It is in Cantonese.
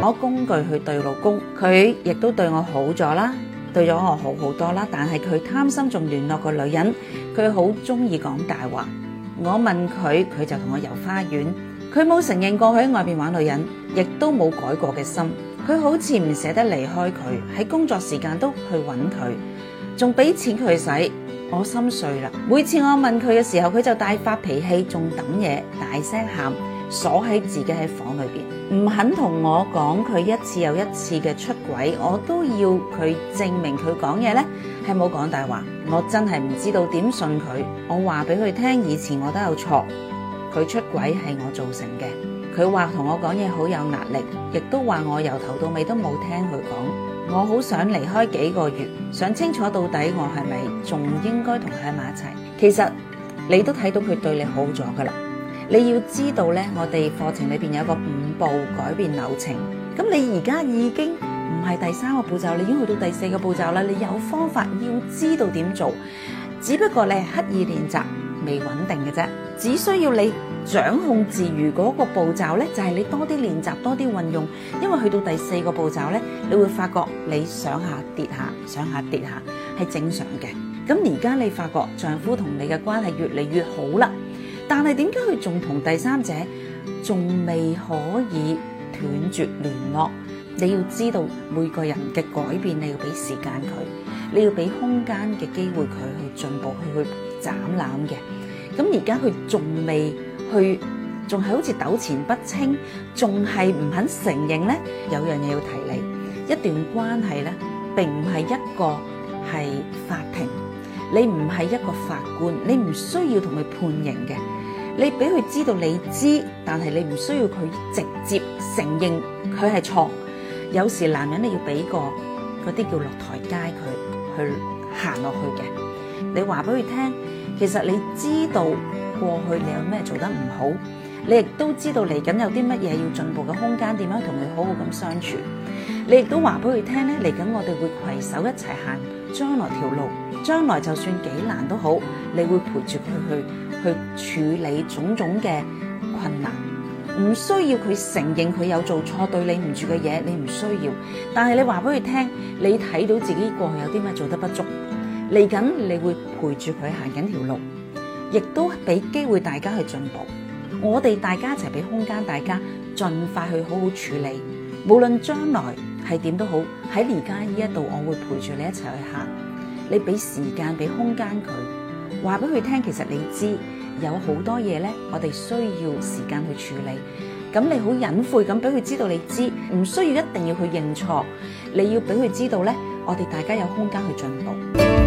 攞工具去對老公，佢亦都對我好咗啦，對咗我好好多啦。但係佢貪心，仲聯絡個女人，佢好中意講大話。我問佢，佢就同我遊花園，佢冇承認過佢喺外邊玩女人，亦都冇改過嘅心。佢好似唔捨得離開佢，喺工作時間都去揾佢，仲俾錢佢使。我心碎啦。每次我問佢嘅時候，佢就大發脾氣，仲抌嘢，大聲喊，鎖喺自己喺房裏邊，唔肯同我講佢一次又一次嘅出軌。我都要佢證明佢講嘢呢係冇講大話。我真係唔知道點信佢。我話俾佢聽，以前我都有錯，佢出軌係我造成嘅。佢話同我講嘢好有壓力，亦都話我由頭到尾都冇聽佢講。我好想離開幾個月，想清楚到底我係咪仲應該同佢喺埋一齊。其實你都睇到佢對你好咗噶啦。你要知道呢，我哋課程裏邊有個5步改變流程。咁你而家已經唔係第3個步驟，你已經去到第4個步驟啦。你有方法，要知道點做，只不過你係刻意練習，未穩定嘅啫。只需要你掌控自如嗰個步驟呢，就係你多啲練習，多啲運用。因為去到第4個步驟呢，你會發覺你上下跌下，上下跌下係正常嘅。咁而家你發覺丈夫同你嘅關係越嚟越好啦，但係點解佢仲同第三者仲未可以斷絕聯絡？你要知道每個人嘅改變，你要俾時間佢，你要俾空間嘅機會佢去進步，去斬纜嘅。咁而家佢仲未去，仲係好似糾纏不清，仲係唔肯承認呢。有樣嘢要提你，一段關係呢，並唔係一個係法庭，你唔係一個法官，你唔需要同佢判刑嘅。你俾佢知道你知，但係你唔需要佢直接承認佢係錯。有時男人你要俾個嗰啲叫落台階佢去行落去嘅。你話俾佢聽，其實你知道過去你有咩做得唔好，你亦都知道嚟緊有啲乜嘢要進步嘅空間，點樣同佢好好咁相處。你亦都話俾佢聽咧，嚟緊我哋會攜手一齊行將來條路，將來就算幾難都好，你會陪住佢去處理種種嘅困難。唔需要佢承認佢有做錯對你唔住嘅嘢，你唔需要。但係你話俾佢聽，你睇到自己過去有啲咩做得不足，嚟緊你會陪住佢行緊條路，亦都俾機會大家去進步。我哋大家一齊俾空間大家盡快去好好處理，無論將來係點都好，喺而家呢一度我會陪住你一齊去行。你俾時間俾空間佢，話俾佢聽，其實你知有好多嘢呢，我哋需要時間去處理。咁你好隱晦咁俾佢知道你知，唔需要一定要去認錯，你要俾佢知道呢，我哋大家有空間去進步。